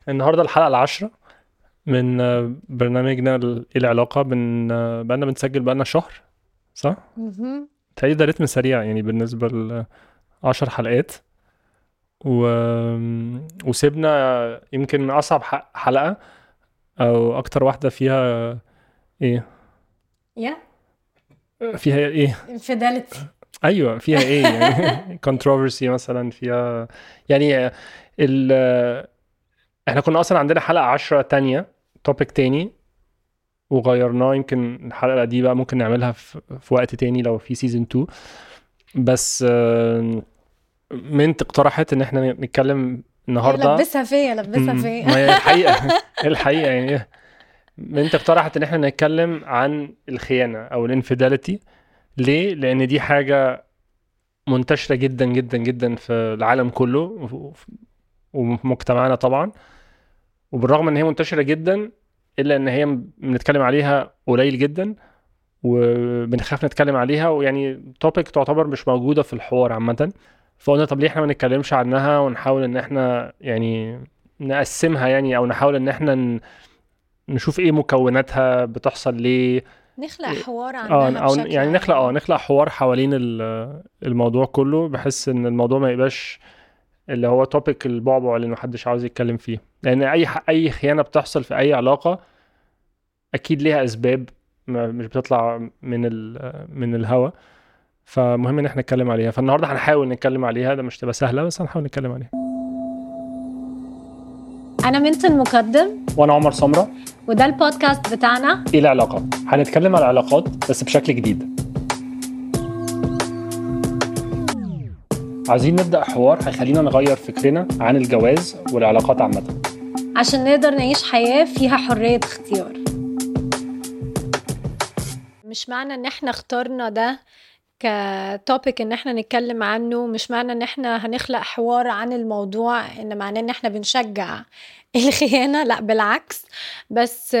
النهارده الحلقة العاشرة من برنامجنا العلاقة بقالنا بنسجل بقالنا شهر، صح؟ مهم. تهيألي ده رتم سريع يعني بالنسبة ل10 حلقات و... وسيبنا يمكن أصعب حلقة أو أكتر واحدة فيها إيه؟ يا فيها إيه؟ infidelity. أيوة فيها إيه يعني controversy مثلا فيها يعني ال... إحنا كنا أصلا عندنا حلقة 10 تانية توبيك تاني وغيرناه. يمكن الحلقة دي بقى ممكن نعملها في وقت تاني لو في سيزن 2. بس منت اقترحت ان احنا نتكلم ايوه، النهارده. لبسها فيا لبسها فيا. ما هي الحقيقة الحقيقة يعني منت اقترحت ان احنا نتكلم عن الخيانة او الانفيداليتي. ليه؟ لان دي حاجة منتشرة جدا جدا جدا في العالم كله وفي مجتمعنا طبعا. وبالرغم ان هي منتشرة جدا الا ان هي بنتكلم عليها قليل جدا وبنخاف نتكلم عليها، ويعني توبيك تعتبر مش موجودة في الحوار عامة. فقلنا طب ليه احنا ما نتكلمش عنها ونحاول ان احنا يعني نقسمها، يعني او نحاول ان احنا نشوف ايه مكوناتها، بتحصل ليه. نخلق حوار اه عنها او بشكل يعني عام. نخلق حوار حوالين الموضوع كله، بحس ان الموضوع ما يبقاش اللي هو توبيك البعبع اللي محدش عاوز يتكلم فيه. لان اي خيانة بتحصل في اي علاقة اكيد ليها اسباب، مش بتطلع من الهوا. فمهم ان احنا نتكلم عليها. فالنهارده هنحاول نتكلم عليها، ده مش تبقى سهله بس هنحاول نتكلم عليها. انا منت المقدم، وانا عمر سمره. وده البودكاست بتاعنا. ايه العلاقات؟ هنتكلم على العلاقات بس بشكل جديد. عايزين نبدا حوار هيخلينا نغير فكرنا عن الجواز والعلاقات عامه. عشان نقدر نعيش حياة فيها حرية اختيار. مش معنى ان احنا اخترنا ده كتوبيك ان احنا نتكلم عنه، مش معنى ان احنا هنخلق حوار عن الموضوع ان معناه ان احنا بنشجع الخيانة، لا بالعكس. بس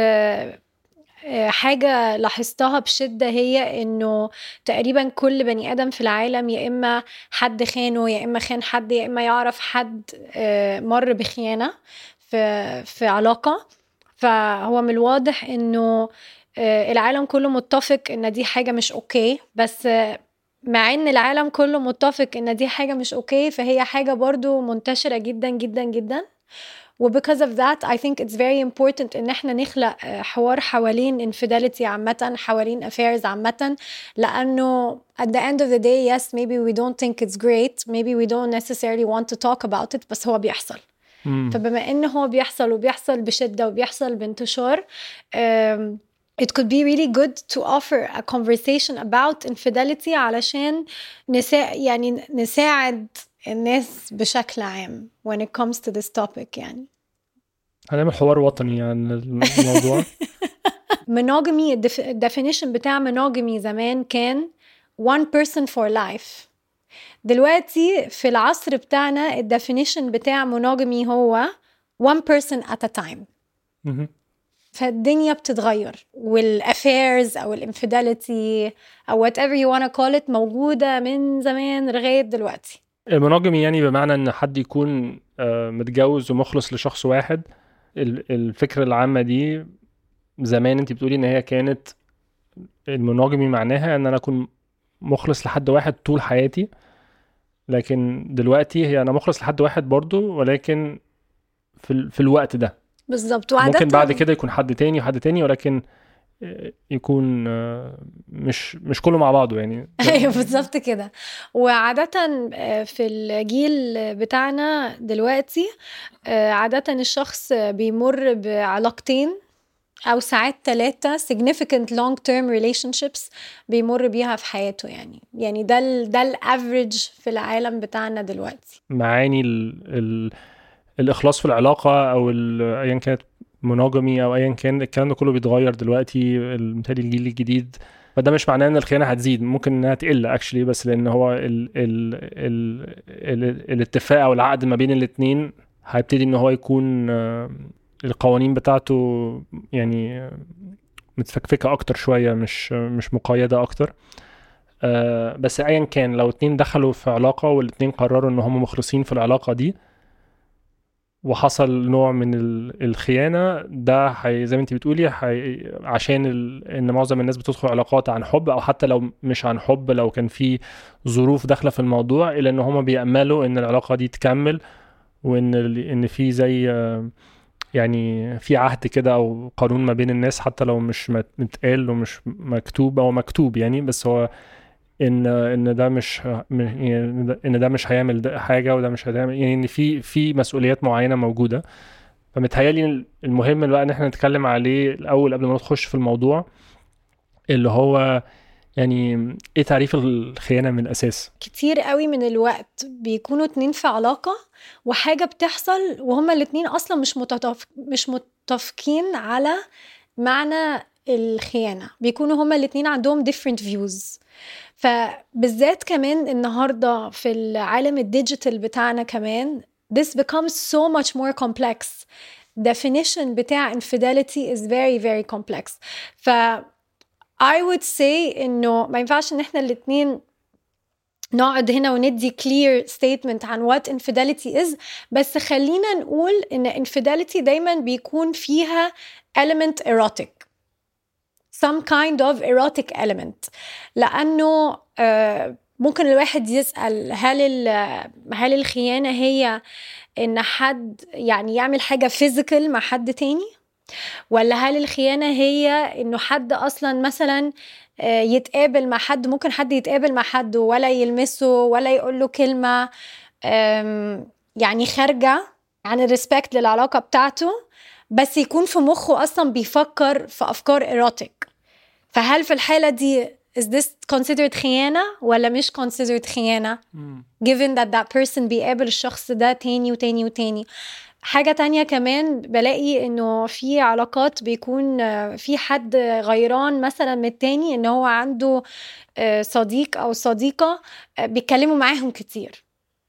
حاجة لاحظتها بشدة هي انه تقريبا كل بني ادم في العالم يا اما حد خانه، يا اما خان حد، يا اما يعرف حد مر بخيانة في علاقة. فهو من الواضح انه العالم كله متفق ان دي حاجة مش اوكي. بس مع ان العالم كله متفق ان دي حاجة مش اوكي، فهي حاجة برضو منتشرة جدا جدا جدا. وبكذا of that I think it's very important ان احنا نخلق حوار حوالين infidelity عامة، حوالين affairs عامة. لانه at the end of the day yes maybe we don't think it's great, maybe we don't necessarily want to talk about it، بس هو بيحصل. فبما انه هو بيحصل وبيحصل بشدة وبيحصل بانتشار، it could be really good to offer a conversation about infidelity علشان يعني نساعد الناس بشكل عام when it comes to this topic يعني. هنعمل حوار وطني عن الموضوع. monogamy، definition بتاع monogamy زمان كان one person for life. دلوقتي في العصر بتاعنا definition بتاع monogamy هو one person at a time. فالدنيا بتتغير، والافيرز او الانفيداليتي او whatever you wanna call it موجودة من زمان لغاية دلوقتي. المونوجامي يعني بمعنى ان حد يكون متجوز ومخلص لشخص واحد. الفكرة العامة دي زمان انت بتقولي ان هي كانت المونوجامي معناها ان انا اكون مخلص لحد واحد طول حياتي. لكن دلوقتي هي انا مخلص لحد واحد برضو، ولكن في الوقت ده. بالظبط. ممكن بعد وعادة كده يكون حد تاني وحد تاني، ولكن يكون مش كله مع بعضه يعني ايوه بالظبط كده. وعادة في الجيل بتاعنا دلوقتي عادة الشخص بيمر بعلاقتين أو ساعات 3 significant long term relationships بيمر بيها في حياته. يعني ده الافريج في العالم بتاعنا دلوقتي. معاني الإخلاص في العلاقة أو أيا كانت مونوجامي أو أيا كان. الكلام ده كله بيتغير دلوقتي، بالتالي الجيل الجديد. فده مش معناه ان الخيانه هتزيد، ممكن انها تقل اكشلي، بس لان هو الاتفاق او العقد ما بين الاثنين هيبتدي ان هو يكون القوانين بتاعته يعني متفكفكه اكتر شويه، مش مقيده اكتر. بس ايا كان لو اتنين دخلوا في علاقه والاتنين قرروا ان هم مخلصين في العلاقه دي، وحصل نوع من الخيانة، ده زي ما انت بتقولي عشان ان معظم الناس بتدخل علاقات عن حب، او حتى لو مش عن حب، لو كان في ظروف داخلة في الموضوع، الا ان هما بيأملوا ان العلاقة دي تكمل، وان في زي يعني في عهد كده او قانون ما بين الناس، حتى لو مش متقال ومش مكتوب او مكتوب يعني، بس هو ان ده مش يعني ان ده مش هيعمل حاجه، وده مش هيعمل، يعني ان في مسؤوليات معينه موجوده. فمتهيألي المهم بقى ان احنا نتكلم عليه الاول قبل ما نخش في الموضوع، اللي هو يعني ايه تعريف الخيانه من الاساس. كتير قوي من الوقت بيكونوا اتنين في علاقة وحاجة بتحصل وهما الاتنين اصلا مش متفقين على معنى الخيانة، بيكونوا هما الاتنين عندهم different views. فبالذات كمان النهاردة في العالم الديجيتال بتاعنا كمان this becomes so much more complex. definition بتاع infidelity is very very complex. ف I would say إنه ما ينفعش إن إحنا الاتنين نقعد هنا وندي clear statement عن what infidelity is، بس خلينا نقول إن infidelity دايما بيكون فيها element erotic, some kind of erotic element. لأنه ممكن الواحد يسأل هل الخيانة هي إن حد يعني يعمل حاجة physical مع حد تاني، ولا هل الخيانة هي إنه حد أصلا مثلا يتقابل مع حد، ممكن حد يتقابل مع حد ولا يلمسه ولا يقوله كلمة يعني خارجة عن الريسبكت للعلاقة بتاعته، بس يكون في مخه أصلا بيفكر في أفكار إيروتيك. فهل في الحالة دي is this considered خيانة ولا مش considered خيانة given that person بيقابل الشخص ده تاني وتاني وتاني. حاجة تانية كمان بلاقي انه في علاقات بيكون في حد غيران مثلا من التاني، ان هو عنده صديق او صديقة بيتكلموا معاهم كتير.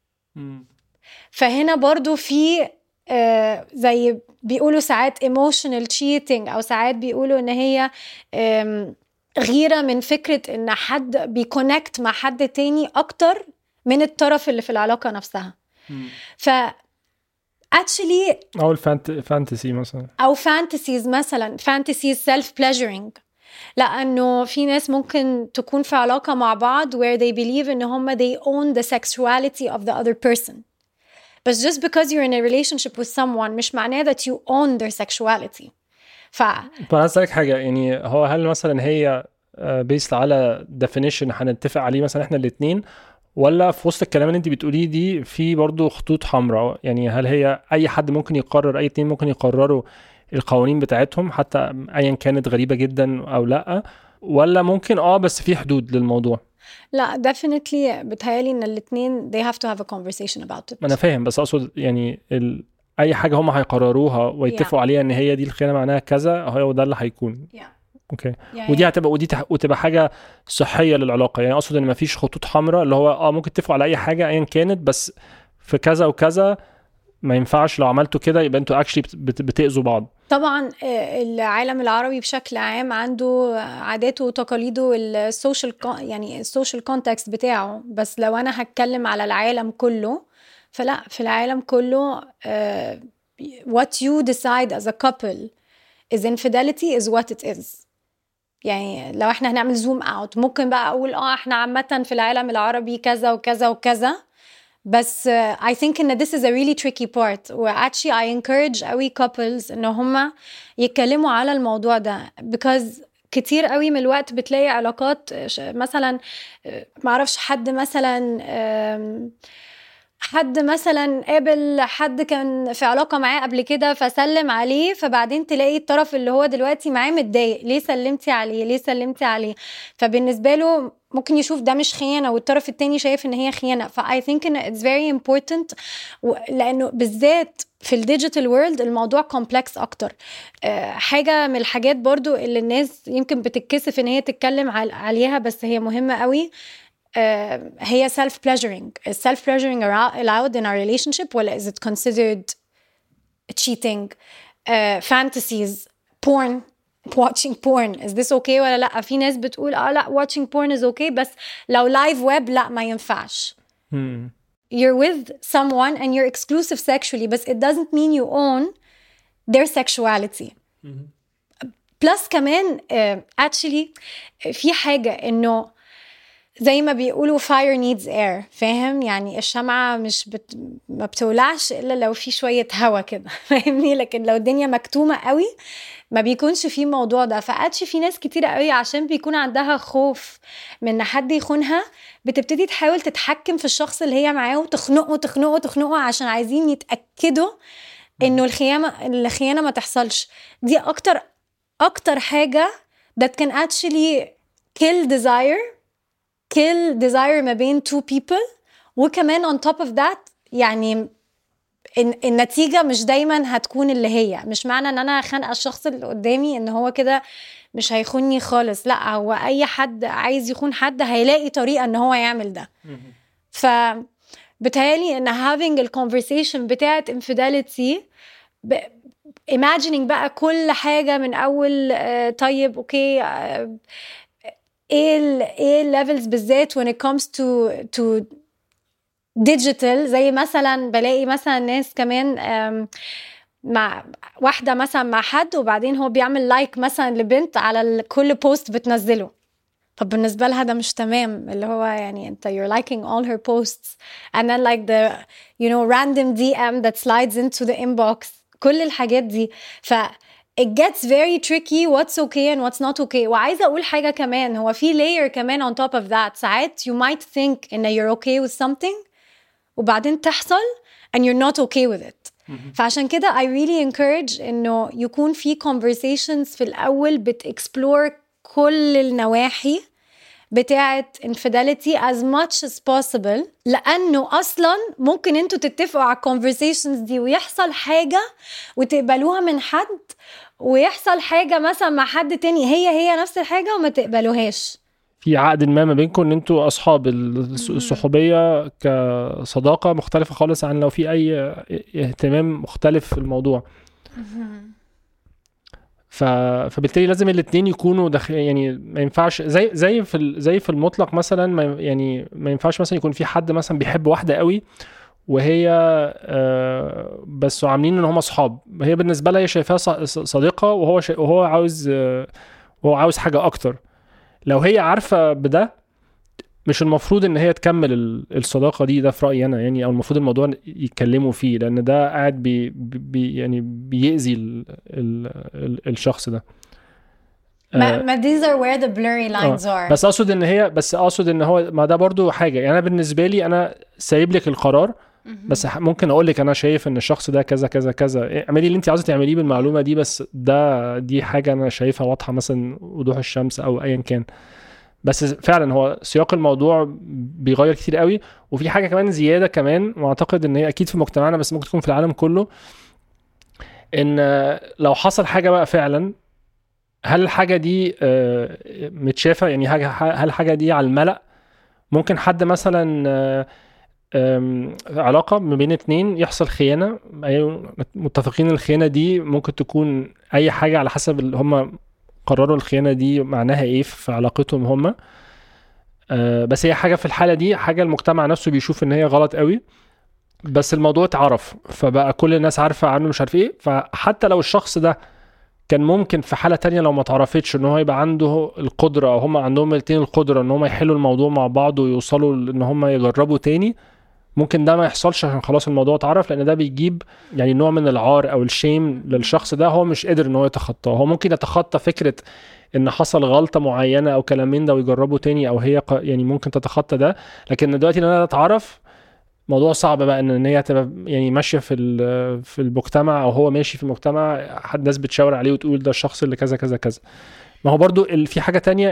فهنا برضو في زي بيقولوا ساعات emotional cheating، او ساعات بيقولوا ان هي غيرة من فكرة ان حد بيكونكت مع حد تاني اكتر من الطرف اللي في العلاقة نفسها. ف actually او الفانتسي مثلا، او fantasies مثلا fantasies self pleasuring. لانه في ناس ممكن تكون في علاقة مع بعض where they believe ان هم they own the sexuality of the other person, but just because you're in a relationship with someone مش معناه that you own their sexuality. فأنا أسألك حاجة، يعني هو هل مثلا هي based على definition هنتفق عليه مثلا احنا الاتنين، ولا في وسط الكلام اللي انت بتقوليه دي في برضو خطوط حمراء؟ يعني هل هي اي حد ممكن يقرر، اي اتنين ممكن يقرروا القوانين بتاعتهم حتى ايا كانت غريبة جدا او لا، ولا ممكن بس في حدود للموضوع؟ لا definitely بتهيالي ان الاتنين they have to have a conversation about it. ما انا فاهم، بس اقصد يعني اي حاجة هم هيقرروها ويتفقوا عليها ان هي دي الخيانة معناها كذا، هو ده اللي هيكون. اوكي. ودي هتبقى وتبقى حاجه صحيه للعلاقه، يعني اقصد ان مفيش خطوط حمراء اللي هو ممكن تتفقوا على اي حاجه ايا كانت، بس في كذا وكذا ما ينفعش، لو عملتوا كده يبقى انتوا اكشلي بتاذوا بعض. طبعا العالم العربي بشكل عام عنده عاداته وتقاليده السوشيال، يعني السوشيال كونتكست بتاعه، بس لو انا هتكلم على العالم كله فلا، في العالم كله what you decide as a couple is infidelity is what it is. يعني لو احنا هنعمل زوم اوت ممكن بقى اقول احنا عامة في العالم العربي كذا وكذا وكذا، بس I think ان this is a really tricky part. و actually I encourage قوي couples ان هما يتكلموا على الموضوع ده because كتير قوي من الوقت بتلاقي علاقات مثلا معرفش حد مثلا قابل حد كان في علاقة معاه قبل كده فسلم عليه، فبعدين تلاقي الطرف اللي هو دلوقتي معاه متضايق، ليه سلمتي عليه، فبالنسبة له ممكن يشوف ده مش خيانة والطرف التاني شايف ان هي خيانة. I think ان it's very important لانه بالذات في الديجيتال وورلد الموضوع كومبلكس اكتر. حاجة من الحاجات برضو اللي الناس يمكن بتتكسف ان هي تتكلم عليها بس هي مهمة قوي، هي self pleasuring. Is self pleasuring allowed in our relationship ولا is it considered cheating? Fantasies, porn, watching porn, is this okay ولا لا؟ في ناس بتقول لا watching porn is okay، بس لو live web لا ما ينفعش. you're with someone and you're exclusive sexually, but it doesn't mean you own their sexuality. plus كمان actually في حاجة إنه زي ما بيقولوا fire needs air، فاهم؟ يعني الشمعة ما بتولعش إلا لو في شوية هوا كده، فاهمني؟ لكن لو الدنيا مكتومة قوي ما بيكونش في موضوع ده. فقاتش في ناس كتيرة قوي عشان بيكون عندها خوف من حد يخونها بتبتدي تحاول تتحكم في الشخص اللي هي معاه وتخنقه عشان عايزين يتأكدوا إنه الخيانة ما تحصلش. دي أكتر حاجة that can actually kill desire ما بين two people. وكمان on top of that يعني النتيجة مش دايما هتكون اللي هي، مش معنى ان انا خانقة الشخص اللي قدامي ان هو كده مش هيخونني خالص، لا، هو اي حد عايز يخون حد هيلاقي طريقة ان هو يعمل ده. فبتهيالي ان having a conversation بتاعت infidelity imagining بقى كل حاجة من اول طيب اوكي ايه levels بالذات when it comes to digital. زي مثلا بلاقي مثلا ناس كمان مع واحدة مثلا مع حد وبعدين هو بيعمل لايك مثلا لبنت على كل بوست بتنزله، فبالنسبة لها ده مش تمام، اللي هو يعني انت you're liking all her posts and then like the random DM that slides into the inbox، كل الحاجات دي. it gets very tricky what's okay and what's not okay. وعايزة أقول حاجة كمان، هو في layer كمان on top of that. ساعات you might think إن you're okay with something وبعدين تحصل and you're not okay with it. فعشان كده I really encourage إنه يكون في conversations في الأول explore كل النواحي بتاعة infidelity as much as possible، لأنه أصلاً ممكن أنتوا تتفقوا على conversations دي ويحصل حاجة وتقبلوها من حد، ويحصل حاجة مثلا مع حد تاني هي نفس الحاجة وما تقبلوهاش. في عقد ما بينكم ان انتوا اصحاب، الصحوبية كصداقة مختلفة خالص عن لو في اي اهتمام مختلف في الموضوع. فبالتالي لازم الاثنين يكونوا يعني ما ينفعش زي في المطلق مثلا، ما ينفعش مثلا يكون في حد مثلا بيحب واحدة قوي وهي بس عاملين ان هم اصحاب، هي بالنسبة لها هي شايفاها صديقة وهو عاوز حاجة اكتر. لو هي عارفة بده مش المفروض ان هي تكمل الصداقة دي، ده في رأيي انا يعني، او المفروض الموضوع يتكلموا فيه، لان ده قاعد يعني بيأذي الشخص ده. ما these are where the blurry lines are. بس اقصد ان هو ما ده برضو حاجة يعني. انا بالنسبة لي انا سايب لك القرار، بس ممكن اقول لك انا شايف ان الشخص ده كذا كذا كذا، اعملي اللي انت عايزه تعمليه بالمعلومة دي، بس دي حاجة انا شايفها واضحة مثلا وضوح الشمس او ايا كان. بس فعلا هو سياق الموضوع بيغير كتير قوي. وفي حاجة كمان زيادة كمان، واعتقد ان هي اكيد في مجتمعنا بس ممكن تكون في العالم كله، ان لو حصل حاجة بقى فعلا، هل الحاجة دي متشافة يعني؟ هل الحاجة دي على الملأ؟ ممكن حد مثلا علاقة ما بين اتنين يحصل خيانة، متفقين الخيانة دي ممكن تكون اي حاجة على حسب اللي هم قرروا الخيانة دي معناها ايه في علاقتهم هم. بس هي حاجة في الحالة دي حاجة المجتمع نفسه بيشوف ان هي غلط قوي، بس الموضوع اتعرف فبقى كل الناس عارفة عنه مش عارف ايه. فحتى لو الشخص ده كان ممكن في حالة تانية لو ما تعرفتش ان هو يبقى عنده القدرة، او هم عندهم الاثنين القدرة ان هم يحلوا الموضوع مع بعض ويوصلوا ان هم يجربوا تاني، ممكن ده ما يحصلش عشان خلاص الموضوع اتعرف، لان ده بيجيب يعني نوع من العار او الشيم للشخص ده هو مش قادر ان هو يتخطاه. هو ممكن يتخطى فكرة ان حصل غلطة معينة او كلامين ده ويجربوا تاني، او هي يعني ممكن تتخطى ده، لكن دلوقتي ان انا اتعرف موضوع صعب بقى ان هي تبقى يعني ماشية في المجتمع، او هو ماشي في المجتمع حد ناس بتشاور عليه وتقول ده الشخص اللي كذا كذا كذا. ما هو برضو في حاجة تانية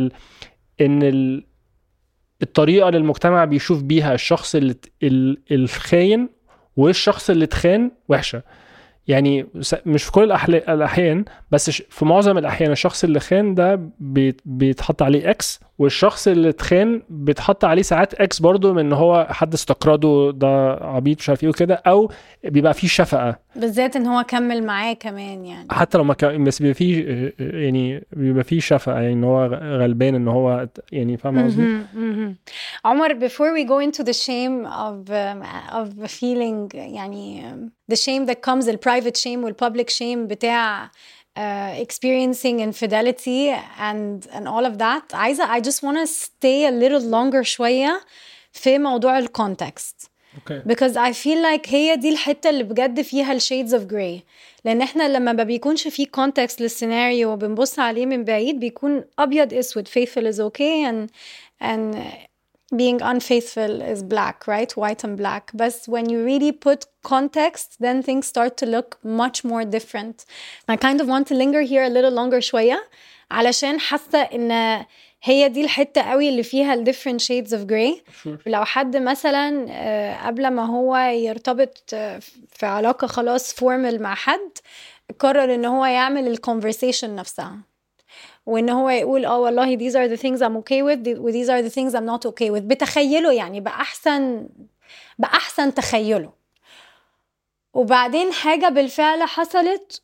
ان الطريقة اللي المجتمع بيشوف بيها الشخص الخاين والشخص اللي اتخان وحشة. يعني مش في كل الأحيان بس في معظم الأحيان الشخص اللي خان ده بيتحط عليه اكس والشخص اللي اتخان بيتحط عليه ساعات اكس برضو من ان هو حد استقرضه ده عبيط مش عارف ايه وكده، او بيبقى فيه شفقه بالذات ان هو كمل معاه كمان يعني. حتى لو ما كان، بس بيبقى فيه يعني بيبقى فيه شفقه، يعني ان هو غلبان ان هو يعني فاهم قصدي. عمر, before we go into the shame of feeling يعني the shame that comes, the private shame وال public shame بتاع experiencing infidelity and all of that, I just want to stay a little longer شوية في موضوع ال context. Okay. Because I feel like هي دي الحتة اللي بجد فيها ال shades of gray. لأن احنا لما ما بيكونش فيه context للسيناريو وبنبص عليه من بعيد بيكون أبيض أسود, faithful is okay and being unfaithful is black, right? White and black. But when you really put context, then things start to look much more different. I kind of want to linger here a little longer شوية علشان حاسة إن هي دي الحتة قوي اللي فيها ال different shades of gray. Sure. لو حد مثلا قبل ما هو يرتبط في علاقة خلاص formal مع حد قرر إن هو يعمل ال conversation نفسها, وإن هو يقول والله these are the things I'm okay with و these are the things I'm not okay with, بتخيله يعني بأحسن تخيله. وبعدين حاجة بالفعل حصلت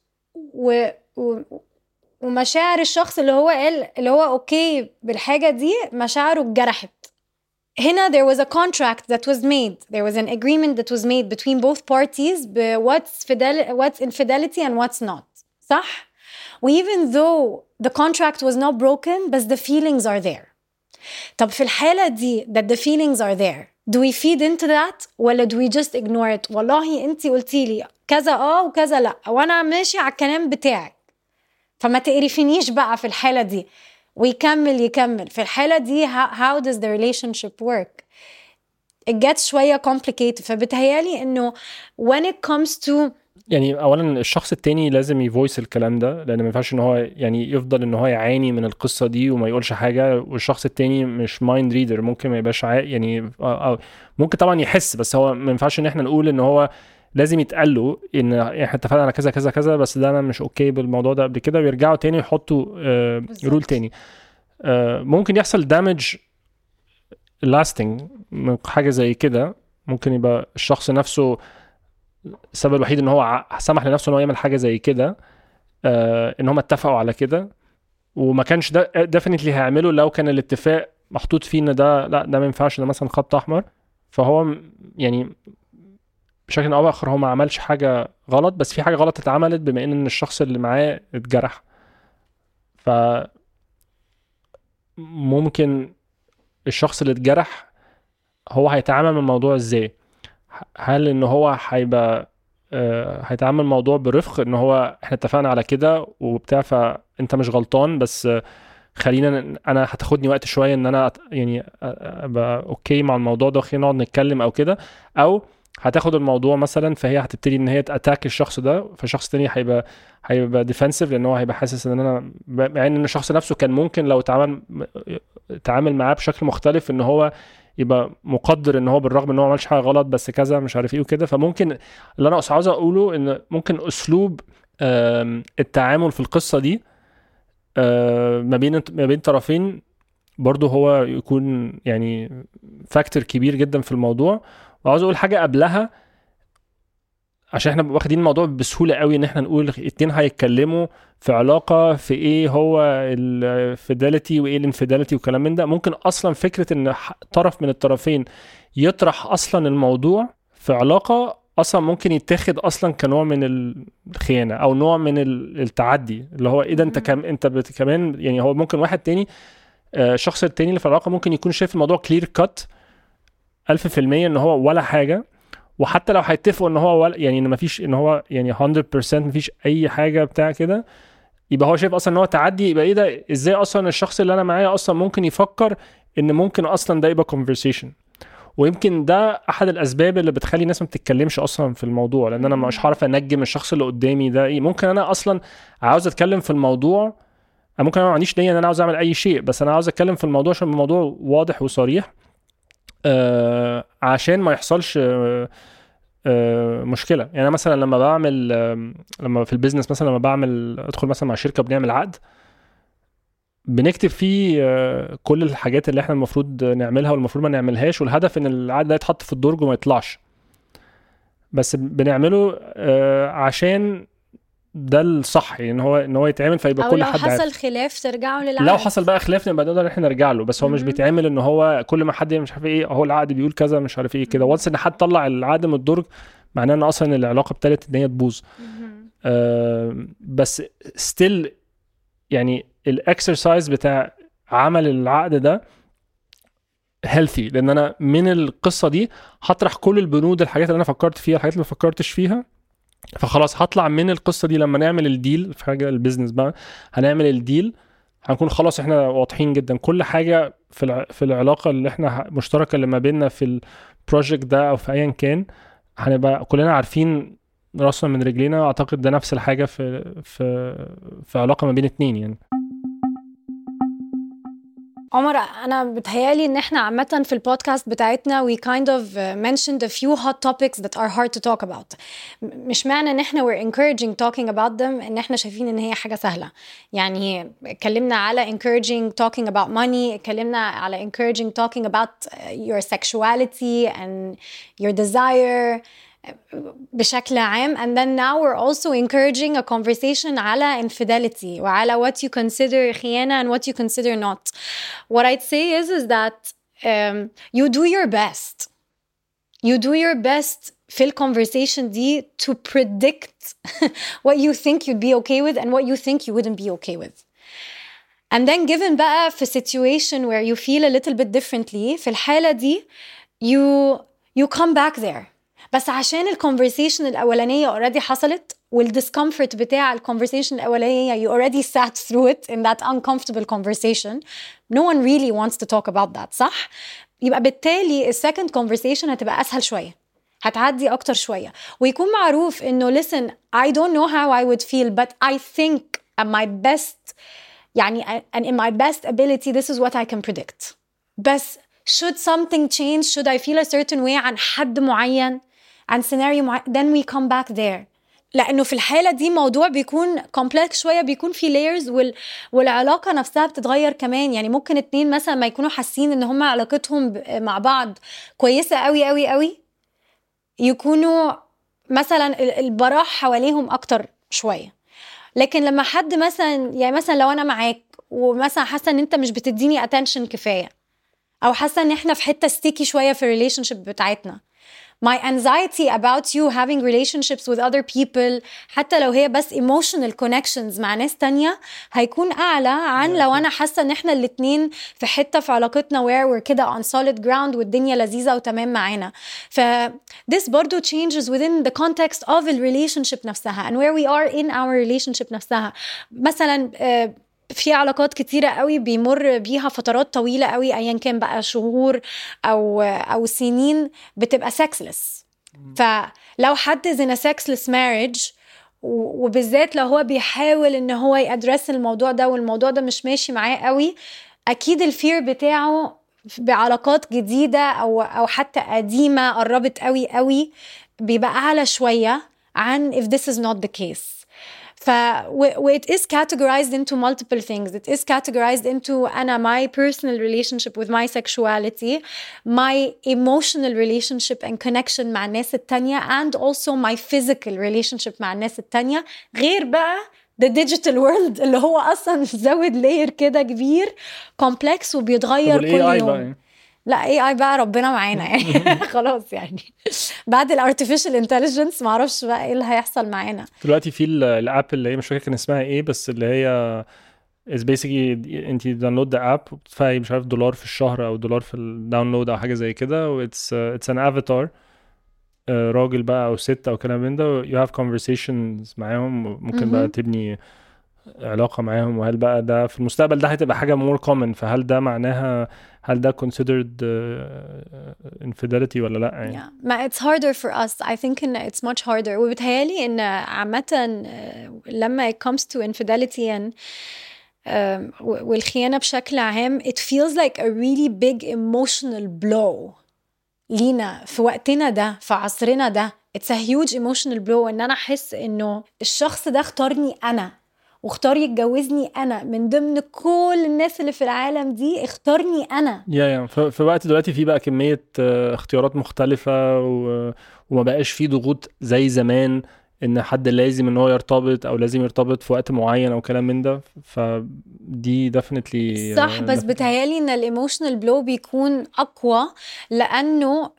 ومشاعر الشخص اللي هو قال اللي هو اوكي بالحاجة دي مشاعره اتجرحت. هنا there was a contract that was made, there was an agreement that was made between both parties what's infidelity and what's not, صح؟ even though the contract was not broken but the feelings are there. طب في الحالة دي that the feelings are there, do we feed into that ولا do we just ignore it؟ والله انتي قلتيلي كذا وكذا لا وانا ماشي على الكلام بتاعك فما تقرفنيش بقى في الحالة دي, ويكمل في الحالة دي how does the relationship work? It gets شوية complicated. فبتهيالي انه when it comes to يعني اولا الشخص التاني لازم يفويس الكلام ده, لان ما ينفعش ان هو يعني يفضل ان هو يعاني من القصه دي وما يقولش حاجه, والشخص التاني مش مايند ريدر, ممكن ما يبقاش يعني ممكن طبعا يحس, بس هو ما ينفعش ان احنا نقول ان هو لازم يتقال له ان احنا اتفقنا على كذا كذا كذا بس ده انا مش اوكي بالموضوع ده قبل كده, ويرجعوا تاني يحطوا رول تاني. ممكن يحصل دامج لاستنج من حاجه زي كده. ممكن يبقى الشخص نفسه السبب الوحيد ان هو سمح لنفسه ان هو يعمل حاجه زي كده, ان هم اتفقوا على كده, وما كانش ده ديفينتلي هيعمله لو كان الاتفاق محطوط فيه ان ده لا ده ما ينفعش, ده مثلا خط احمر. فهو يعني بشكل او باخر هو ما عملش حاجه غلط, بس في حاجه غلط اتعملت بما ان الشخص اللي معاه اتجرح. ف ممكن الشخص اللي اتجرح هو هيتعامل مع الموضوع ازاي؟ هل ان هو هيبقى هيتعامل الموضوع برفق ان هو احنا اتفقنا على كده وبتاع فانت مش غلطان, بس خلينا انا هتاخدني وقت شويه ان انا يعني ابقى اوكي مع الموضوع ده وخلينا نقعد نتكلم او كده, او هتاخد الموضوع مثلا فهي هتبتدي ان هي تاتاك الشخص ده, فالشخص التاني هيبقى ديفنسيف لان هو هيبقى حاسس ان انا مع ان الشخص نفسه كان ممكن لو تعامل معاه بشكل مختلف ان هو يبقى مقدر ان هو بالرغم ان هو ما عملش حاجه غلط بس كذا مش عارف ايه وكده. فممكن اللي انا عاوز اقوله ان ممكن اسلوب التعامل في القصه دي ما بين طرفين برضو هو يكون يعني فاكتور كبير جدا في الموضوع. وعاوز اقول حاجه قبلها عشان احنا واخدين الموضوع بسهوله قوي ان احنا نقول اتنين هيتكلموا في علاقه في ايه هو الفيداليتي وايه الانفيداليتي وكلام من ده. ممكن اصلا فكره ان طرف من الطرفين يطرح اصلا الموضوع في علاقه اصلا ممكن يتاخد اصلا كنوع من الخيانه او نوع من التعدي, اللي هو ايه ده انت كمان يعني هو ممكن واحد تاني الشخص التاني اللي في العلاقه ممكن يكون شايف الموضوع كلير كات 1000% ان هو ولا حاجه, وحتى لو هيتفقوا ان هو يعني ان مفيش ان هو يعني 100% مفيش اي حاجه بتاع كده, يبقى هو شايف اصلا ان هو تعدي. يبقى ايه ده, ازاي اصلا الشخص اللي انا معاه اصلا ممكن يفكر ان ممكن اصلا ده يبقى conversation؟ ويمكن ده احد الاسباب اللي بتخلي الناس ما بتتكلمش اصلا في الموضوع, لان انا مش عارف انجم الشخص اللي قدامي ده ايه. ممكن انا اصلا عاوز اتكلم في الموضوع, ممكن انا ما عنديش نيه ان انا عاوز اعمل اي شيء, بس انا عاوز اتكلم في الموضوع عشان الموضوع واضح وصريح عشان ما يحصلش مشكله. يعني مثلا لما بعمل لما في البيزنس مثلا لما بعمل ادخل مثلا مع شركه بنعمل عقد, بنكتب فيه كل الحاجات اللي احنا المفروض نعملها والمفروض ما نعملهاش، والهدف ان العقد ده يتحط في الدرج وما يطلعش. بس بنعمله عشان ده الصح، يعني ان هو يتعمل فيبقى او كل لو حد حصل عارف. خلاف ترجعوا للعقد. لو حصل بقى خلاف نبقى نقدر احنا نرجع له، بس هو مش بيتعمل ان هو كل ما حد مش عارف ايه هو العقد بيقول كذا مش عارف ايه كده. وانس ان حد طلع العقد من الدرج معناه ان اصلا العلاقه ابتدت ان هي تبوظ. بس ستيل يعني الاكسرسايز بتاع عمل العقد ده healthy، لان انا من القصه دي هطرح كل البنود، الحاجات اللي انا فكرت فيها، الحاجات اللي ما فكرتش فيها. فخلاص هطلع من القصه دي لما نعمل الديل في حاجه البيزنس بقى، هنعمل الديل هنكون خلاص احنا واضحين جدا كل حاجه في العلاقه اللي احنا مشتركه اللي ما بيننا في البروجكت ده او في ايا كان، هنبقى كلنا عارفين راسنا من رجلينا. اعتقد ده نفس الحاجه في علاقه ما بين اتنين يعني. عمر، انا بتهيالي ان احنا عامه في البودكاست بتاعتنا we kind of mentioned a few hot topics that are hard to talk about. مش معنى ان احنا we're encouraging talking about them ان احنا شايفين ان هي حاجه سهله. يعني اتكلمنا على encouraging talking about money، اتكلمنا على encouraging talking about your sexuality and your desire بشكل عام. And then now we're also encouraging a conversation على infidelity وعلى what you consider خيانة and what you consider not. What I'd say is that you do your best. You do your best في الconversation دي to predict what you think you'd be okay with and what you think you wouldn't be okay with. And then given بقى في situation where you feel a little bit differently، في الحالة دي you come back there. بس عشان الكونفرسيشن الأولانية already حصلت والدiscomfort بتاع الكونفرسيشن الأولانية you already sat through it in that uncomfortable conversation. No one really wants to talk about that، صح؟ يبقى بالتالي السكند conversation هتبقى أسهل شوية، هتعدي أكتر شوية، ويكون معروف إنه listen I don't know how I would feel but I think at my best يعني and in my best ability this is what I can predict. بس should something change, should I feel a certain way عن حد معين عن سيناريو معين، then we come back there. لأنه في الحالة دي موضوع بيكون complex شوية، بيكون في layers والعلاقة نفسها بتتغير كمان. يعني ممكن اتنين مثلا ما يكونوا حاسين ان هم علاقتهم مع بعض كويسة قوي قوي قوي، يكونوا مثلا البراح حواليهم أكتر شوية. لكن لما حد مثلا يعني مثلا لو أنا معاك ومثلا حاسة ان انت مش بتديني attention كفاية، أو حاسة ان احنا في حتة sticky شوية في relationship بتاعتنا، my anxiety about you having relationships with other people حتى لو هي بس emotional connections مع ناس تانية هيكون أعلى عن لو أنا حاسة إن إحنا الاتنين في حتة في علاقتنا where we're كده on solid ground والدنيا لذيذة وتمام معانا. this برضو changes within the context of the relationship نفسها and where we are in our relationship نفسها. مثلا في علاقات كتيرة قوي بيمر بيها فترات طويلة قوي أيا كان بقى شهور أو سنين بتبقى sexless. فلو حد is in a sexless marriage وبالذات لو هو بيحاول إن هو يأدرس الموضوع ده والموضوع ده مش ماشي معاه قوي، أكيد الفير بتاعه بعلاقات جديدة أو حتى قديمة قربت قوي قوي بيبقى أعلى شوية عن if this is not the case. it is categorized into multiple things. It is categorized into my personal relationship with my sexuality, my emotional relationship and connection مع الناس التانية, and also my physical relationship مع الناس التانية, غير بقى the digital world اللي هو أصلا زود layer كده كبير complex وبيتغير كل يوم. لا AI بقى ربنا معانا يعني خلاص يعني بعد الارتفيشال انتليجنس معرفش بقى ايه اللي هيحصل معانا دلوقتي. في الاب اللي هي مش فاكر كان اسمها ايه، بس اللي هي is basically انت داونلود ذا اب وبتدفعي مش عارف $1 في الشهر او $1 في الداونلود او حاجه زي كده، واتس ان افاتار راجل بقى او ست او كلام من ده، you have conversations معاهم، ممكن بقى تبني علاقه معاهم. وهل بقى ده في المستقبل ده هتبقى حاجه more common؟ فهل ده معناها هل ده considered infidelity ولا لا يعني؟ yeah. ما it's harder for us. I think إن it's much harder. وبتهيالي إن عامة لما it comes to infidelity and والخيانة بشكل عام it feels like a really big emotional blow لينا في وقتنا ده في عصرنا ده. It's a huge emotional blow إن أنا أحس إنه الشخص ده اختارني أنا واختار يتجوزني انا من ضمن كل الناس اللي في العالم دي، اختارني انا. يا في وقت دلوقتي في بقى كمية اختيارات مختلفة وما بقاش في ضغوط زي زمان ان حد لازم ان هو يرتبط او لازم يرتبط في وقت معين او كلام من ده. فدي definitely صح، بس بتهيالي ان الايموشنال بلو بيكون اقوى، لانه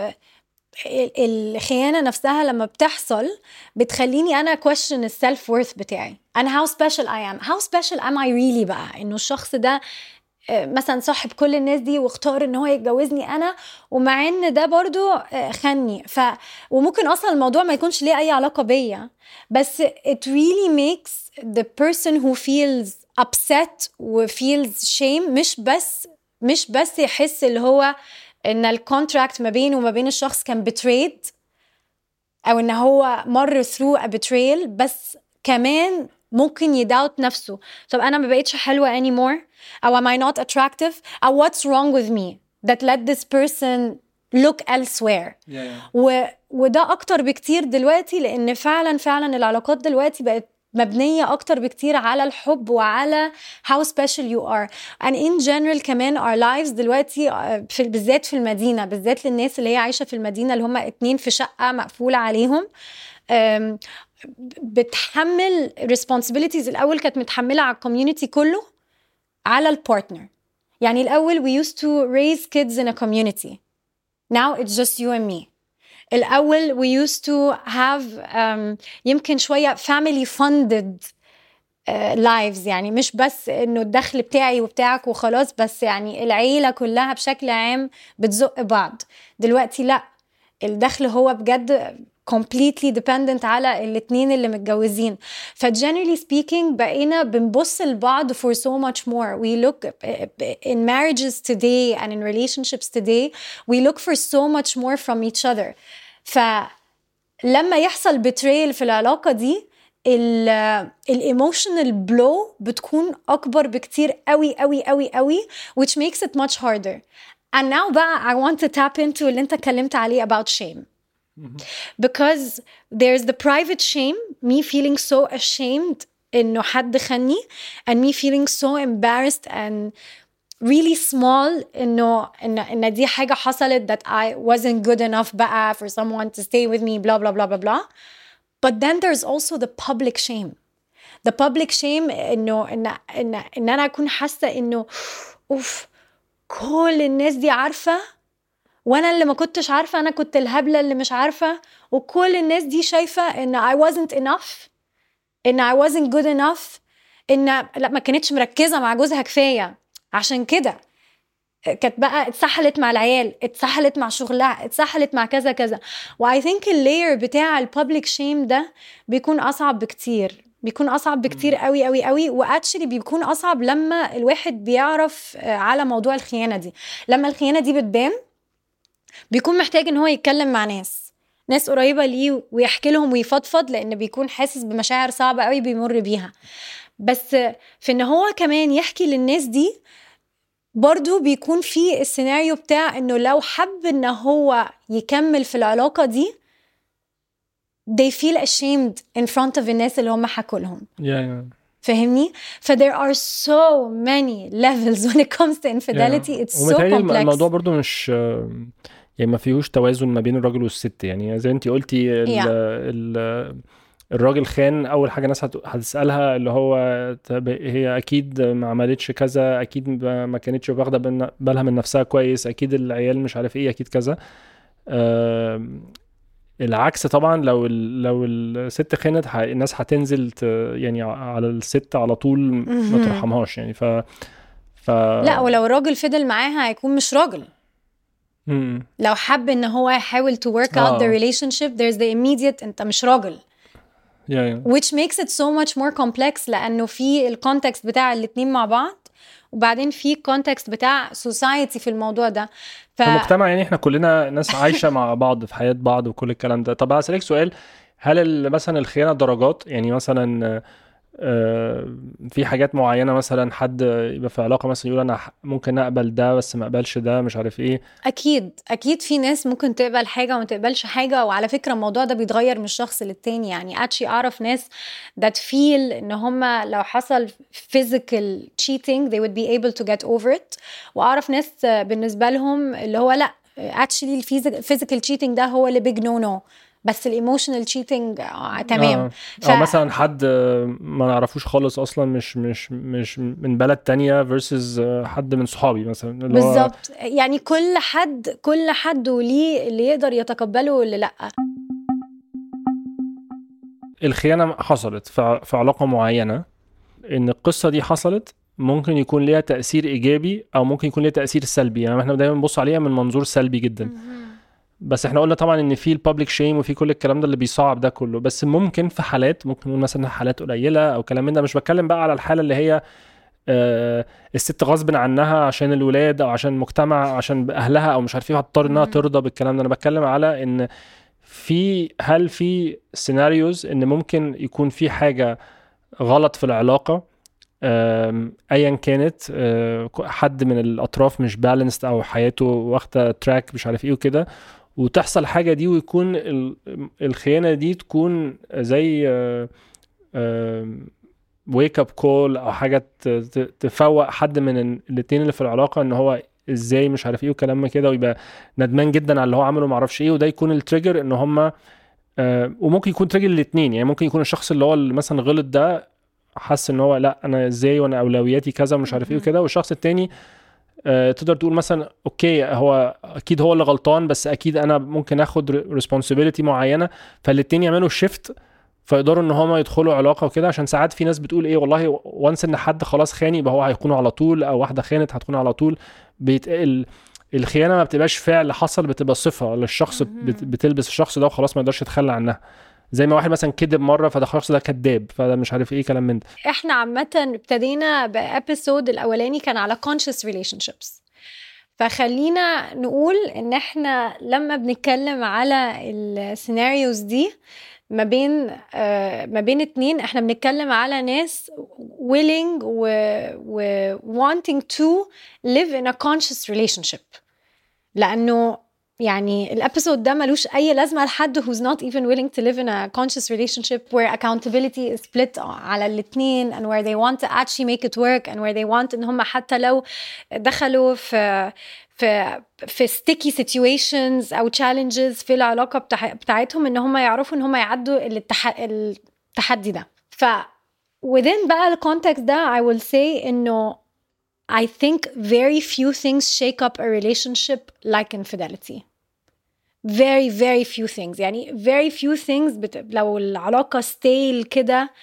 الخيانة نفسها لما بتحصل بتخليني أنا question السلف worth بتاعي. أنا how special I am, how special am I really بقى، إنه الشخص ده مثلا صاحب كل الناس دي واختار إن هو يتجوزني أنا، ومع إن ده برضو خني. وممكن أصلا الموضوع ما يكونش ليه أي علاقة بيا، بس it really makes the person who feels upset و feels shame مش بس يحس اللي هو ان الكونتراكت ما بينه وما بين الشخص كان betrayed، او ان هو مر through a betrayal، بس كمان ممكن يداوت نفسه. طب انا ما بقيتش حلوة anymore، او am I not attractive، او what's wrong with me that let this person look elsewhere. وده اكتر بكتير دلوقتي، لان فعلا العلاقات دلوقتي بقت مبنية أكتر بكتير على الحب وعلى how special you are and in general. كمان our lives دلوقتي بالذات في المدينة، بالذات للناس اللي هي عايشة في المدينة اللي هم 2 في شقة مقفولة عليهم، بتحمل responsibilities. الأول كانت متحملة على الكوميونيتي كله، على البارتنر. يعني الأول we used to raise kids in a community, now it's just you and me. الأول we used to have يمكن شوية family funded lives، يعني مش بس إنه الدخل بتاعي وبتاعك وخلاص، بس يعني العيلة كلها بشكل عام بتزق بعض. دلوقتي لأ، الدخل هو بجد completely dependent على الاتنين اللي متجوزين. generally speaking بقينا بنبص لبعض for so much more. we look in marriages today and in relationships today we look for so much more from each other. فلما يحصل betrayal في العلاقة دي، emotional blow بتكون أكبر بكتير قوي قوي قوي قوي, which makes it much harder. And now بقى I want to tap into اللي انت اتكلمت عليه about shame. Because there's the private shame, me feeling so ashamed إنه حد خني, and me feeling so embarrassed and really small إن دي حاجة حصلت that I wasn't good enough بقى for someone to stay with me blah blah blah blah blah. But then there's also the public shame. The public shame إن أنا أكون حاسة إنه أوف كل الناس دي عارفة وانا اللي ما كنتش عارفة، انا كنت الهبلة اللي مش عارفة، وكل الناس دي شايفة ان I wasn't enough، ان I wasn't good enough، ان لا ما كانتش مركزة مع جوزها كفاية، عشان كده كانت بقى اتسحلت مع العيال، اتسحلت مع شغلها، اتسحلت مع كذا كذا. و I think اللاير بتاع البابليك شيم ده بيكون اصعب بكتير، بيكون اصعب بكتير قوي قوي قوي. واكشلي بيكون اصعب لما الواحد بيعرف على موضوع الخيانة دي. لما الخيانة دي بتبان بيكون محتاج ان هو يتكلم مع ناس قريبة ليه ويحكي لهم ويفضفض، لان بيكون حاسس بمشاعر صعبة قوي بيمر بيها. بس في ان هو كمان يحكي للناس دي برضو بيكون في السيناريو بتاع انه لو حب ان هو يكمل في العلاقة دي they feel ashamed in front of الناس اللي هم حكوا لهم. فهمني؟ there are so many levels when it comes to infidelity. It's so complex. الموضوع برضو مش يعني ما فيهوش توازن ما بين الراجل والست. يعني زي انتي قلتي الراجل خان، اول حاجه الناس هتسالها اللي هو هي اكيد ما عملتش كذا، اكيد ما كانتش واخده بالها من نفسها كويس، اكيد العيال مش عارف ايه، اكيد كذا. العكس طبعا، لو الست خانت الناس هتنزل يعني على الست على طول ما ترحمهاش يعني. لا، ولو الراجل فضل معاها هيكون مش راجل. لو حب ان هو يحاول to work out the relationship there's the immediate انت مش راجل. which makes it so much more complex، لانه في الكونتكست بتاع الاتنين مع بعض، وبعدين في الكونتكست بتاع society في الموضوع ده. المجتمع يعني احنا كلنا ناس عايشة مع بعض في حياة بعض وكل الكلام ده. طب هسألك سؤال، هل مثلا الخيانة درجات؟ يعني مثلا في حاجات معينة، مثلا حد يبقى في علاقة مثلا يقول أنا ممكن أقبل ده بس ما أقبلش ده، مش عارف إيه. اكيد في ناس ممكن تقبل حاجه وما تقبلش حاجه، وعلى فكره الموضوع ده بيتغير من شخص للتاني. يعني اعرف ناس that feel ان هم لو حصل physical cheating they would be able to get over it، واعرف ناس بالنسبه لهم اللي هو لا actually physical cheating ده هو اللي big no no، بس الايموشنال cheating تمام. او مثلا حد ما نعرفوش خالص اصلا، مش من بلد تانية versus حد من صحابي مثلا، اللي هو بالظبط. يعني كل حد وليه اللي يقدر يتقبله واللي لا. الخيانة حصلت في علاقة معينة، ان القصة دي حصلت ممكن يكون ليها تأثير إيجابي أو ممكن يكون ليها تأثير سلبي. يعني احنا دايما بنبص عليها من منظور سلبي جدا، بس احنا قلنا طبعا ان في البابليك شيم وفي كل الكلام ده اللي بيصعب ده كله. بس ممكن في حالات، ممكن نقول مثلا حالات قليلة أو كلام من ده، مش بتكلم بقى على الحالة اللي هي الست غصب عنها عشان الولاد أو عشان المجتمع عشان أهلها أو مش عارف ايه هتضطر انها ترضى بالكلام ده. أنا بتكلم على ان هل في سيناريوز ان ممكن يكون في حاجة غلط في العلاقة ايا كانت، حد من الاطراف مش بالانسد او حياته واخده تراك مش عارف ايه وكده، وتحصل حاجه دي ويكون الخيانه دي تكون زي ويك اب كول او حاجه تفوق حد من الاتنين اللي في العلاقه ان هو ازاي مش عارف ايه وكلام كده، ويبقى ندمان جدا على اللي هو عمله معرفش ايه، وده يكون التريجر ان هم وممكن يكون تريجر الاثنين. يعني ممكن يكون الشخص اللي هو مثلا غلط ده حس ان هو لا انا ازاي وانا اولوياتي كذا ومش عارف ايه وكده، والشخص التاني تقدر تقول مثلا اوكي هو اكيد هو اللي غلطان بس اكيد انا ممكن اخد ريسبونسبيلتي معينه، فالاتنين يعملوا شيفت فيقدروا ان هما يدخلوا علاقه وكده. عشان ساعات في ناس بتقول ايه والله وانس ان حد خلاص خاني يبقى هو هيكون على طول، او واحده خانت هتكون على طول. الخيانه ما بتبقاش فعل حصل، بتبقى صفه للشخص بتلبس الشخص ده وخلاص ما يقدرش يتخلى عنها. زي ما واحد مثلا كذب مره فده الشخص ده كذاب، فده مش عارف ايه كلام من ده. احنا عامه ابتدينا بابيسود الاولاني كان على conscious relationships، فخلينا نقول ان احنا لما بنتكلم على السيناريوز دي ما بين اتنين، احنا بنتكلم على ناس willing و wanting to live in a conscious relationship. لانه يعني الابيسود ده ملوش اي لازمه لحد who's not even willing to live in a conscious relationship where accountability is split على الاتنين and where they want to actually make it work and where they want ان هم حتى لو دخلوا في sticky situations او challenges في العلاقه بتاعتهم ان هم يعرفوا ان هم يعدوا التحدي ده. ف within بقى الcontext ده I will say انه I think very few things shake up a relationship like infidelity. Very very few things. يعني very few things لو العلاقة stale كده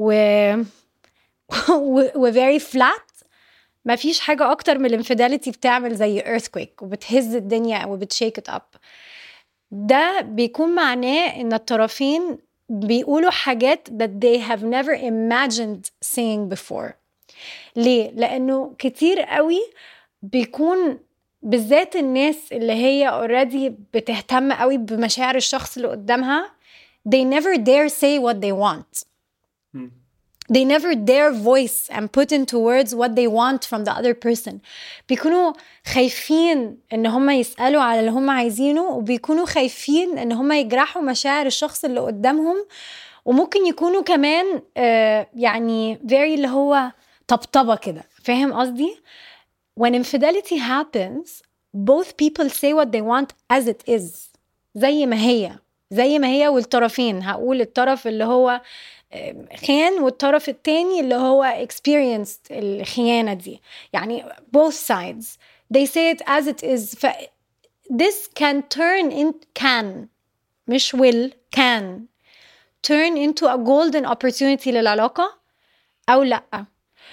و very flat، ما فيش حاجة أكتر من الانفيداليتي بتعمل زي earthquake وبتهز الدنيا وبتشيك it up. ده بيكون معناه إن الطرفين بيقولوا حاجات that they have never imagined saying before. ليه؟ لأنه كتير قوي بيكون بالذات الناس اللي هي already بتهتم قوي بمشاعر الشخص اللي قدامها they never dare say what they want. They never dare voice and put into words what they want from the other person. بيكونوا خايفين ان هم يسألوا على اللي هم عايزينه، وبيكونوا خايفين ان هم يجرحوا مشاعر الشخص اللي قدامهم، وممكن يكونوا كمان يعني very اللي هو طبطبة كده. فاهم قصدي؟ When infidelity happens both people say what they want as it is، زي ما هي والطرفين. هقول الطرف اللي هو خيان والطرف التاني اللي هو experienced الخيانة دي، يعني both sides they say it as it is. This can turn in مش will can turn into a golden opportunity للعلاقة أو لأ.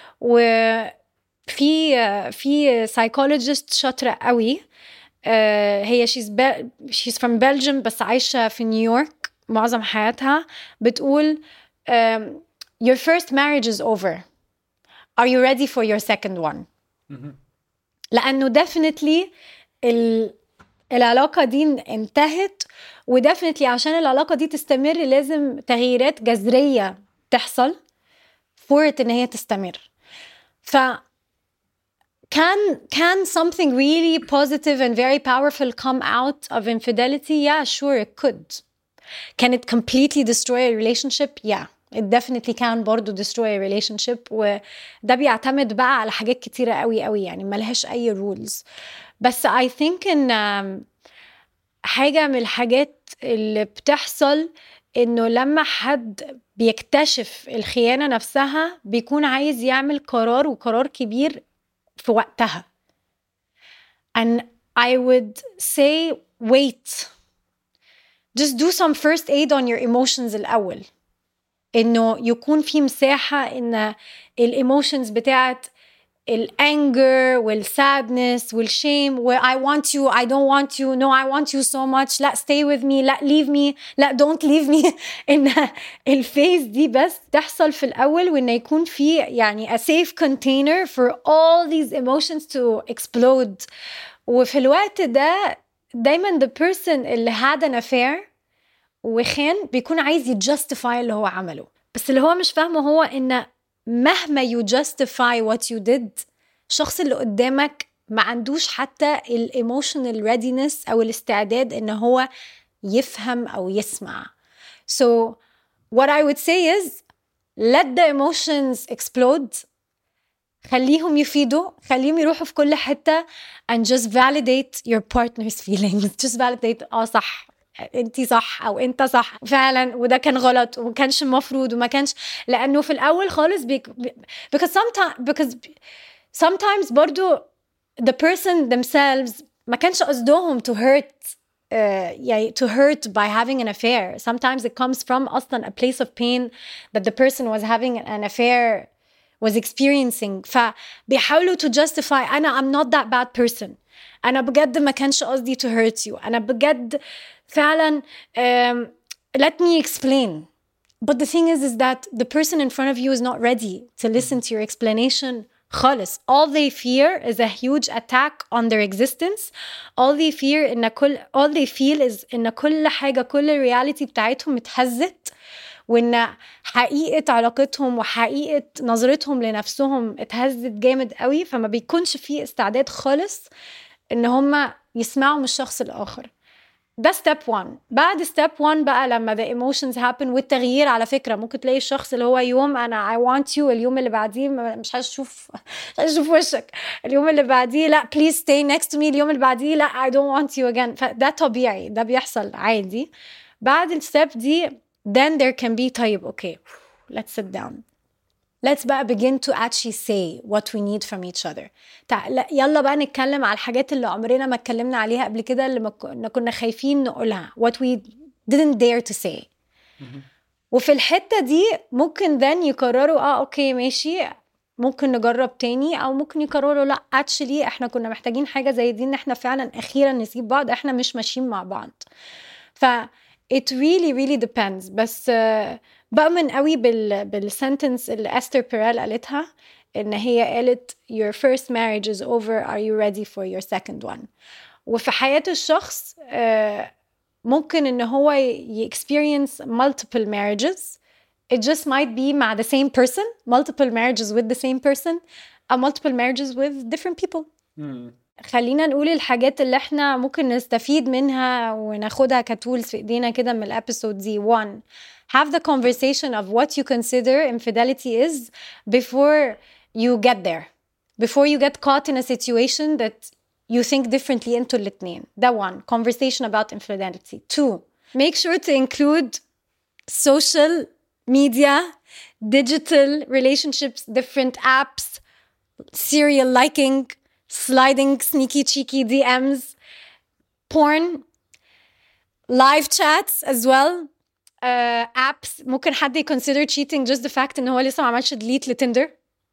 في psychologist شاطرة قوي، هي she's from Belgium بس عايشة في نيويورك معظم حياتها، بتقول your first marriage is over, are you ready for your second one؟ لأنه definitely العلاقة دي انتهت، ودفنتلي عشان العلاقة دي تستمر لازم تغييرات جذرية تحصل for it إن هي تستمر. ف can something really positive and very powerful come out of infidelity? Yeah, sure, it could. Can it completely destroy a relationship? Yeah, it definitely can برضو destroy a relationship. وده بيعتمد بقى على حاجات كتيرة قوي قوي، يعني ملهاش أي rules. بس I think إن حاجة من الحاجات اللي بتحصل إنه لما حد بيكتشف الخيانة نفسها بيكون عايز يعمل قرار، وقرار كبير في وقتها. And I would say wait. Just do some first aid on your emotions الأول. إنه يكون في مساحة إن الإيموشنز بتاعت الأنجر والسادنس والشيم و I want you, I don't want you, no I want you so much, لا stay with me, لا leave me, لا don't leave me. إن الفيز دي بس تحصل في الأول، وإن يكون في يعني a safe container for all these emotions to explode. وفي الوقت ده دايما the person اللي had an affair وخان بيكون عايز يجستيفاي اللي هو عمله، بس اللي هو مش فاهمه هو إن مهما you justify what you did الشخص اللي قدامك ما عندوش حتى emotional readiness أو الاستعداد إن هو يفهم أو يسمع. So what I would say is let the emotions explode. خليهم يفيدوا، خليهم يروحوا في كل حتة and just validate your partner's feelings. just validate صح انتي صح او انت صح فعلا، وده كان غلط وما كانش المفروض وما كانش، لانه في الاول خالص because sometimes برضو the person themselves ما كانش قصدهم to hurt يعني to hurt by having an affair. Sometimes it comes from أصلا a place of pain that the person was having an affair was experiencing. فبيحاولوا to justify I'm not that bad person. أنا بجد ما كانش قصدي to hurt you. أنا بجد فعلا let me explain. But the thing is that the person in front of you is not ready to listen to your explanation خالص. All they fear is a huge attack on their existence. All they feel is إن كل حاجة، كل الرياليتي بتاعتهم اتهزت، وإن حقيقة علاقتهم وحقيقة نظرتهم لنفسهم اتهزت جامد قوي، فما بيكونش فيه استعداد خالص إن هم يسمعوا من الشخص الآخر. ده step 1. بعد step 1 بقى لما the emotions happen والتغيير، على فكرة ممكن تلاقي الشخص اللي هو يوم أنا I want you، اليوم اللي بعديه مش هشوف وشك، اليوم اللي بعديه لا please stay next to me، اليوم اللي بعديه لا I don't want you again. فده طبيعي، ده بيحصل عادي. بعد الستep دي then there can be طيب okay let's sit down, let's بقى begin to actually say what we need from each other. يلا بقى نتكلم على الحاجات اللي عمرنا ما اتكلمنا عليها قبل كده، اللي كنا خايفين نقولها what we didn't dare to say. وفي الحتة دي ممكن then يقرروا اوكي ماشي ممكن نجرب تاني، او ممكن يقرروا لا actually احنا كنا محتاجين حاجة زي دي، ان احنا فعلا اخيرا نسيب بعض، احنا مش ماشيين مع بعض. ف it really depends. بس بؤمن قوي بالسنتنس اللي أستر بيريل قالتها، إن هي قالت your first marriage is over, are you ready for your second one. وفي حياة الشخص ممكن إن هو experience multiple marriages. It just might be مع the same person, multiple marriages with the same person, or multiple marriages with different people. خلينا نقول الحاجات اللي احنا ممكن نستفيد منها وناخدها كتولز في ايدينا كده من الابيسود دي. 1. Have the conversation of what you consider infidelity is before you get there, before you get caught in a situation that you think differently into الاتنين. ده 1. Conversation about infidelity. 2. Make sure to include social media, digital relationships, different apps, serial liking, sliding sneaky cheeky DMs, porn, live chats as well, apps. ممكن حد consider cheating just the fact إن هو لسه ما عملش delete لتندر.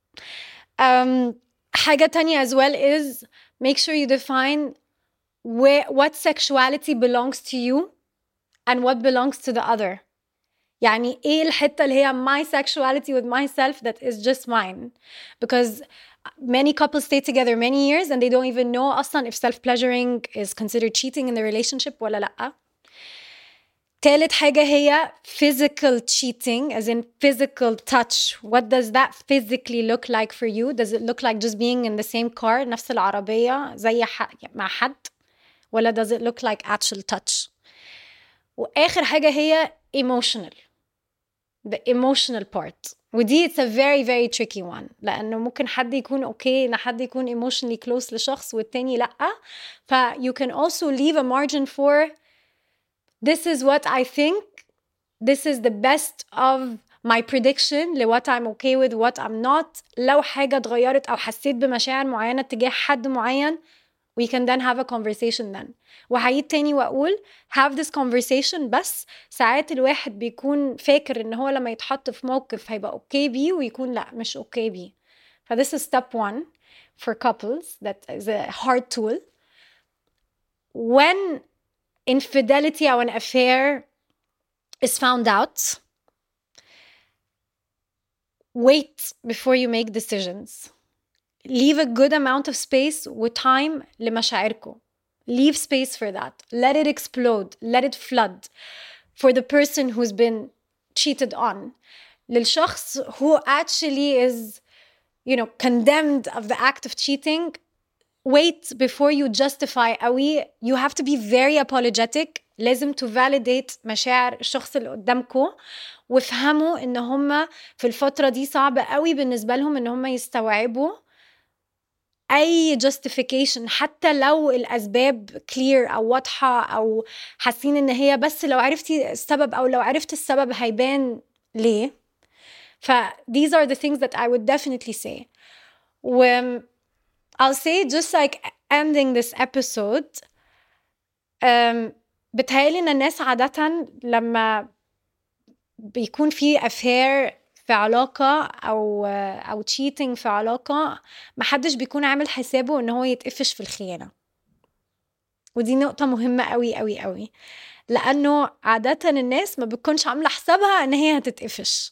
حاجة تانية as well is make sure you define what sexuality belongs to you and what belongs to the other. يعني إيه الحتة اللي هي my sexuality with myself that is just mine, because many couples stay together many years and they don't even know أصلا if self-pleasuring is considered cheating in the relationship ولا لأ. تالت حاجة هي physical cheating, as in physical touch. What does that physically look like for you? Does it look like just being in the same car, نفس العربية زي مع حد؟ ولا does it look like actual touch؟ وآخر حاجة هي emotional, the emotional part. ودي it's a very very tricky one, لأنه ممكن حد يكون okay إن حد يكون emotionally close لشخص والتاني لأ. ف you can also leave a margin for this is what I think, this is the best of my prediction ل what I'm okay with, what I'm not. لو حاجة اتغيرت أو حسيت بمشاعر معينة تجاه حد معين, we can then have a conversation then. وهعيد تاني وأقول have this conversation, بس ساعات الواحد بيكون فاكر إن هو لما يتحط في موقف هيبقى okay بيه ويكون لأ مش okay بيه. ف this is step one for couples, that is a hard tool. When infidelity or an affair is found out, wait before you make decisions. Leave a good amount of space with time لمشاعركم. Leave space for that. Let it explode. Let it flood. For the person who's been cheated on. للشخص who actually is, condemned of the act of cheating, wait before you justify قوي. You have to be very apologetic. لازم to validate مشاعر الشخص اللي قدامكم, وافهموا ان هم في الفترة دي صعبة قوي بالنسبة لهم ان هم يستوعبوا اي justification, حتى لو الاسباب clear او واضحة او حاسين ان هي بس لو عرفتي السبب او لو عرفت السبب هيبان ليه. ف these are the things that I would definitely say. I'll say just like ending this episode, بتهيألي ان الناس عادة لما بيكون في affair في علاقة أو cheating في علاقة, محدش بيكون عامل حسابه إن هو يتقفش في الخيانة. ودي نقطة مهمة قوي قوي قوي, لأنه عادة الناس ما بتكونش عاملة حسابها إن هي هتتقفش.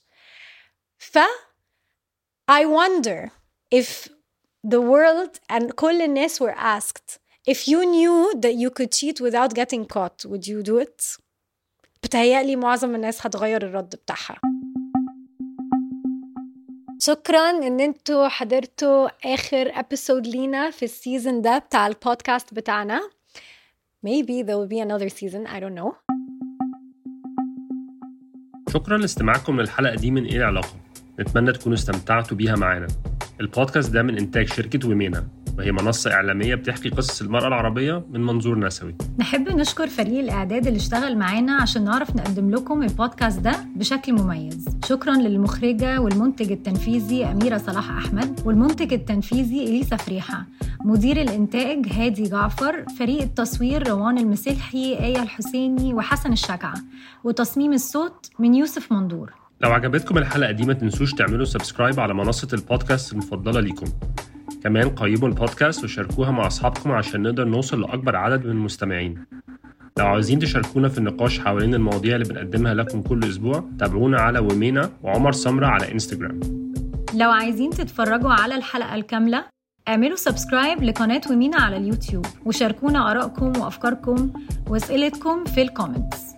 I wonder if the world and كل الناس were asked, if you knew that you could cheat without getting caught, would you do it? بتهيألي معظم الناس هتغير الرد بتاعها. شكراً إن انتوا حضرتوا آخر episode لينا في السيزن ده بتاع البودكاست بتاعنا. Maybe there will be another season, I don't know. شكراً لاستماعكم للحلقة دي من إيه العلاقة. نتمنى تكونوا استمتعتوا بيها معانا. البودكاست ده من إنتاج شركة ومينا, وهي منصة إعلامية بتحكي قصص المرأة العربية من منظور نسوي. نحب نشكر فريق الإعداد اللي اشتغل معانا عشان نعرف نقدم لكم البودكاست ده بشكل مميز. شكراً للمخرجة والمنتج التنفيذي أميرة صلاح أحمد, والمنتج التنفيذي إليسا فريحة, مدير الإنتاج هادي جعفر, فريق التصوير روان المسلحي, آية الحسيني, وحسن الشجعة, وتصميم الصوت من يوسف مندور. لو عجبتكم الحلقة دي ما تنسوش تعملوا سبسكرايب على منصة البودكاست المفضلة ليكم. كمان قيموا البودكاست وشاركوها مع أصحابكم عشان نقدر نوصل لأكبر عدد من المستمعين. لو عاوزين تشاركونا في النقاش حوالين المواضيع اللي بنقدمها لكم كل أسبوع, تابعونا على ومينا وعمر سمرة على إنستجرام. لو عايزين تتفرجوا على الحلقة الكاملة, اعملوا سبسكرايب لقناة ومينا على اليوتيوب, وشاركونا آرائكم وأفكاركم وأسئلتكم في الكومنتس.